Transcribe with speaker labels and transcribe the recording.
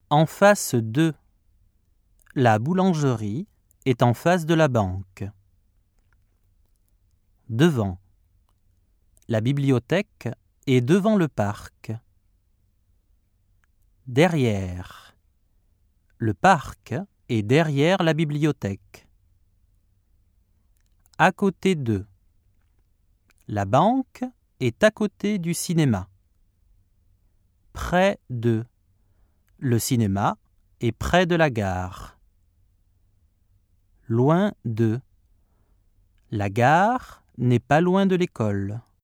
Speaker 1: En face de. La boulangerie est en face de la banque. Devant. La bibliothèque est devant le parc. Derrière. Le parc est derrière la bibliothèque. À côté de. La banque est à côté du cinéma. Près de. Le cinéma est près de la gare. Loin de. La gare n'est pas loin de l'école.